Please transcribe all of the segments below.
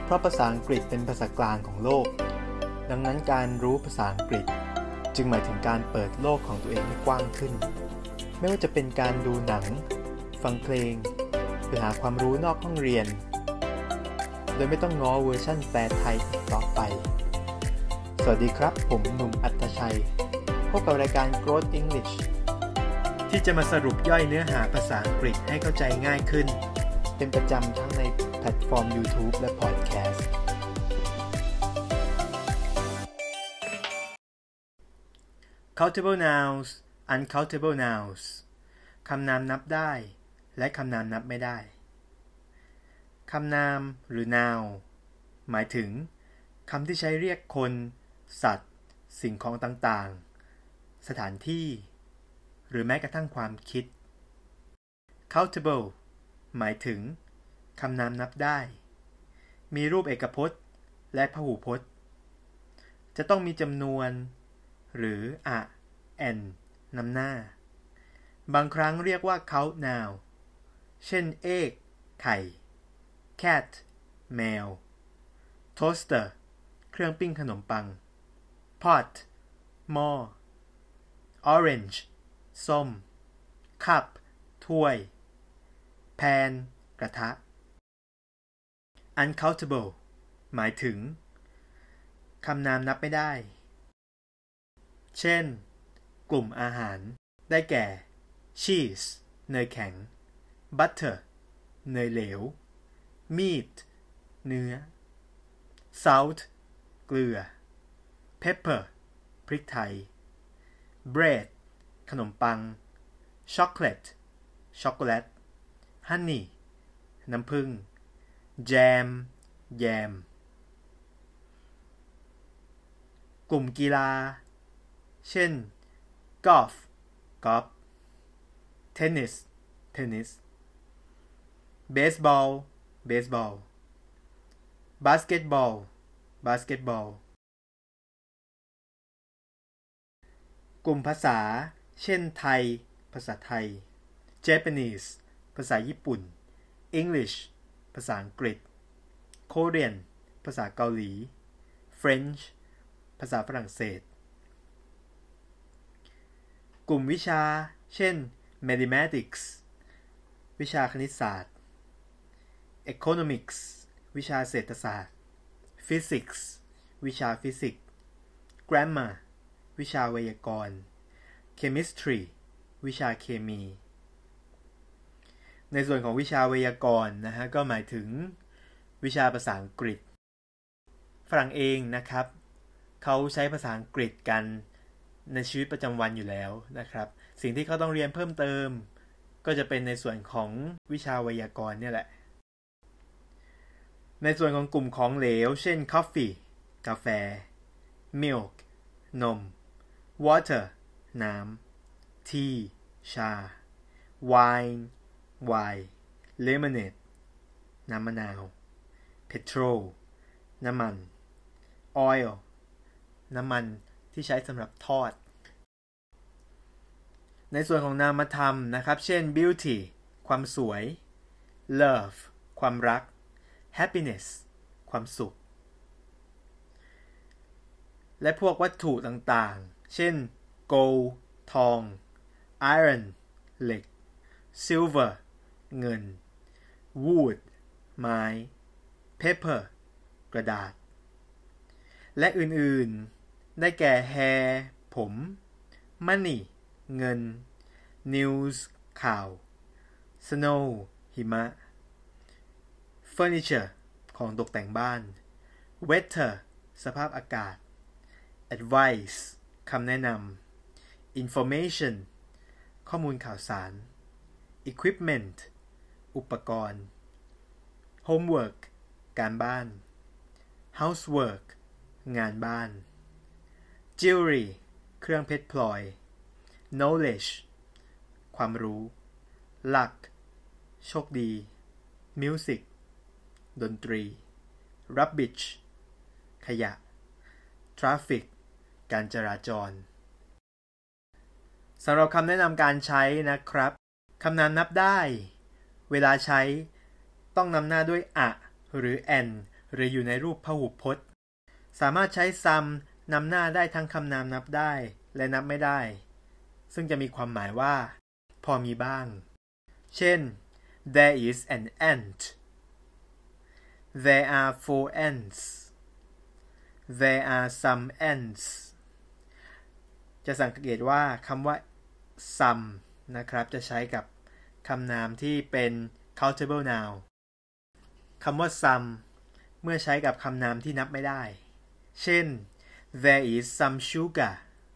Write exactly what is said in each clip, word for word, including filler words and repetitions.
เพราะภาษาอังกฤษเป็นภาษากลางของโลกดังนั้นการรู้ภาษาอังกฤษจึงหมายถึงการเปิดโลกของตัวเองให้กว้างขึ้นไม่ว่าจะเป็นการดูหนังฟังเพลงหรือหาความรู้นอกห้องเรียนโดยไม่ต้องง้อเวอร์ชั่นแปลไทยอีกต่อไปสวัสดีครับผมหนุ่มอัตชัยพบกับรายการ Growth English ที่จะมาสรุปย่อยเนื้อหาภาษาอังกฤษให้เข้าใจง่ายขึ้นเป็นประจำทั้งในแพลตฟอร์ม YouTube และ Podcast Countable nouns uncountable nouns คำนามนับได้และคำนามนับไม่ได้คำนามหรือ noun หมายถึงคำที่ใช้เรียกคนสัตว์สิ่งของต่างๆสถานที่หรือแม้กระทั่งความคิด countable หมายถึงคำนามนับได้มีรูปเอกพจน์และพหูพจน์จะต้องมีจำนวนหรือ a an นำหน้าบางครั้งเรียกว่า count noun เช่น egg ไข่ cat แมว toaster เครื่องปิ้งขนมปัง pot หม้อ orange ส้ม cup ถ้วย pan กระทะ uncountable หมายถึงคำนามนับไม่ได้เช่นกลุ่มอาหารได้แก่ cheese เนยแข็ง butter เนยเหลว meat เนื้อ salt เกลือ pepper พริกไทย bread ขนมปัง chocolate ช็อกโกแลต honey น้ำผึ้ง jam แยมกลุ่มกีฬาเช่น golf กอล์ฟ tennis เทนนิส baseball เบสบอล basketball บาสเกตบอลกลุ่มภาษาเช่นไทยภาษาไทย Japanese ภาษาญี่ปุ่น English ภาษาอังกฤษ Korean ภาษาเกาหลี French ภาษาฝรั่งเศสกลุ่มวิชาเช่น mathematics วิชาคณิตศาสตร์ economics วิชาเศรษฐศาสตร์ physics วิชาฟิสิกส์ grammar วิชาไวยากรณ์ chemistry วิชาเคมีในส่วนของวิชาไวยากรณ์นะฮะก็หมายถึงวิชาภาษาอังกฤษฝรั่งเองนะครับเขาใช้ภาษาอังกฤษกันในชีวิตประจำวันอยู่แล้วนะครับสิ่งที่เขาต้องเรียนเพิ่มเติมก็จะเป็นในส่วนของวิชาไวยากรณ์เนี่ยแหละในส่วนของกลุ่มของเหลวเช่น coffee กาแฟ milk นม water น้ำ tea ชา wine ไวน์ lemonade น้ำมะนาว petrol น้ำมัน oil น้ำมันที่ใช้สำหรับทอดในส่วนของนามธรรมนะครับเช่น beauty ความสวย love ความรัก happiness ความสุขและพวกวัตถุต่างๆเช่น gold ทอง iron เหล็ก silver เงิน wood ไม้ paper กระดาษและอื่นๆได้แก่ hair ผม money เงิน news ข่าว snow หิมะ furniture ของตกแต่งบ้าน weather สภาพอากาศ advice คำแนะนำ information ข้อมูลข่าวสาร equipment อุปกรณ์ homework การบ้าน housework งานบ้าน jewelry เครื่องเพชรพลอย knowledge ความรู้ luck โชคดี music ดนตรี rubbish ขยะ traffic การจราจรสำหรับคำแนะนำการใช้นะครับคำนามนับได้เวลาใช้ต้องนำหน้าด้วย a หรือ an หรืออยู่ในรูปพหุพจน์สามารถใช้ some นำหน้าได้ทั้งคำนามนับได้และนับไม่ได้ซึ่งจะมีความหมายว่าพอมีบ้างเช่น there is an ant there are four ants there are some ants จะสังเกตว่าคำว่า some นะครับจะใช้กับคำนามที่เป็น countable noun คำว่า some เมื่อใช้กับคำนามที่นับไม่ได้เช่น there is some sugar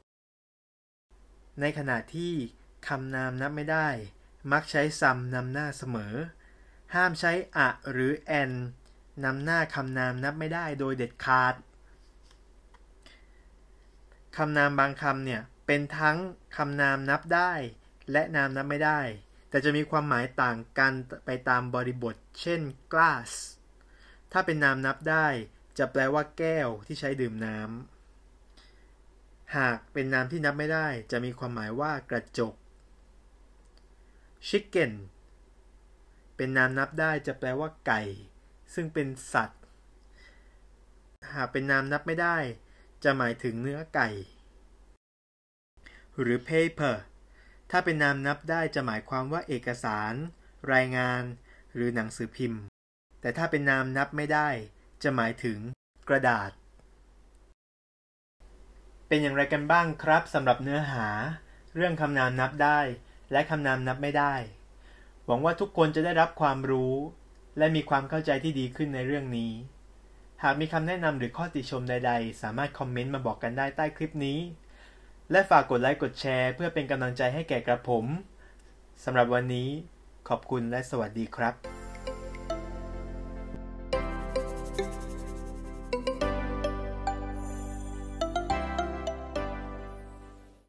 ในขณะที่คำนามนับไม่ได้มักใช้ some นำหน้าเสมอห้ามใช้ a หรือ an นำหน้าคำนามนับไม่ได้โดยเด็ดขาดคำนามบางคำเนี่ยเป็นทั้งคำนามนับได้และนามนับไม่ได้แต่จะมีความหมายต่างกันไปตามบริบทเช่น glass ถ้าเป็นนามนับได้จะแปลว่าแก้วที่ใช้ดื่มน้ำหากเป็นนามที่นับไม่ได้จะมีความหมายว่ากระจก chicken เป็นนามนับได้จะแปลว่าไก่ซึ่งเป็นสัตว์หากเป็นนามนับไม่ได้จะหมายถึงเนื้อไก่หรือ paper ถ้าเป็นนามนับได้จะหมายความว่าเอกสารรายงานหรือหนังสือพิมพ์แต่ถ้าเป็นนามนับไม่ได้จะหมายถึงกระดาษเป็นอย่างไรกันบ้างครับสำหรับเนื้อหาเรื่องคำนามนับได้และคำนามนับไม่ได้หวังว่าทุกคนจะได้รับความรู้และมีความเข้าใจที่ดีขึ้นในเรื่องนี้หากมีคำแนะนำหรือข้อติชมใดๆสามารถคอมเมนต์มาบอกกันได้ใต้คลิปนี้และฝากกดไลค์กดแชร์เพื่อเป็นกำลังใจให้แก่กระผมสำหรับวันนี้ขอบคุณและสวัสดีครับ